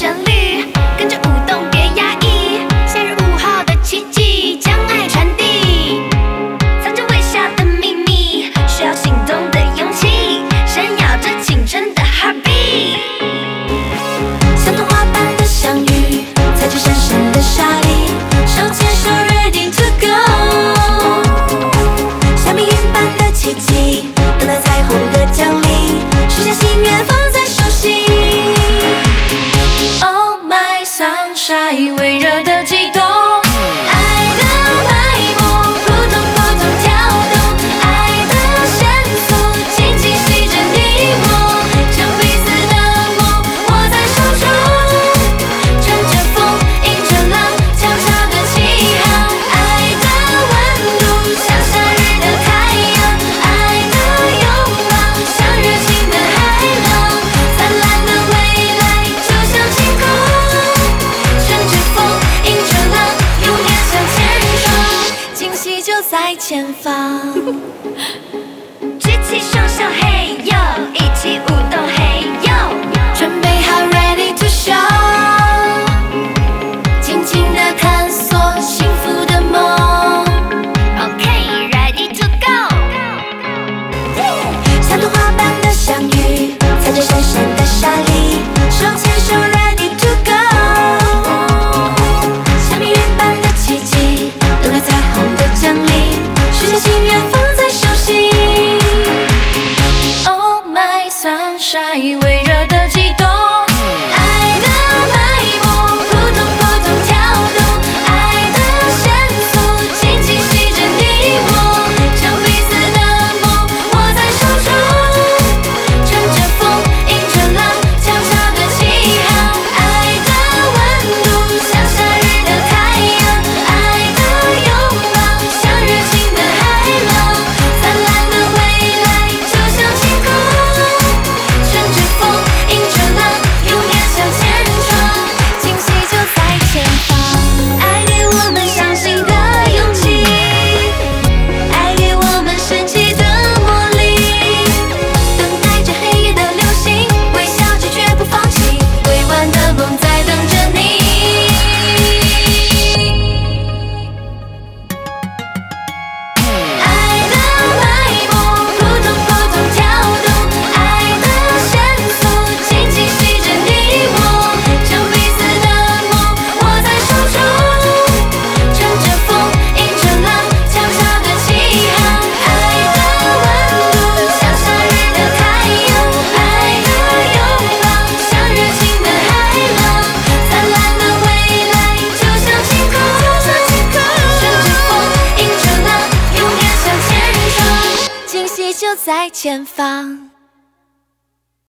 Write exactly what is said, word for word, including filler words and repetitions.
旋律，跟着舞动别压抑。夏日午后的奇迹，将爱传递。藏着微笑的秘密，需要行动的勇气，闪耀着青春的 heartbeat。像童话般的相遇，踩着闪闪的沙砾，手牵手 ready to go。像命运般的奇迹，等待彩虹的降临，许下心愿放在手心。Oh my sunshine， 微热的悸动。在前方，举起双手，嘿呦，一起舞动，嘿呦，准备好 ready to show， 尽情地探索幸福的梦。OK ready to go， 像童话般的相遇，踩着闪闪的沙砾，手牵手 ready to go， 像命运般的奇迹，等待彩虹的降临。许下心愿放在手心。Oh my sunshine， 微热的悸动，爱的脉搏扑通扑通跳动，爱的线索紧紧系着你我，将彼此的梦握在手中，乘着风，迎着浪，悄悄的起航。爱的温度像夏日的太阳，爱的拥抱像热情的就在前方。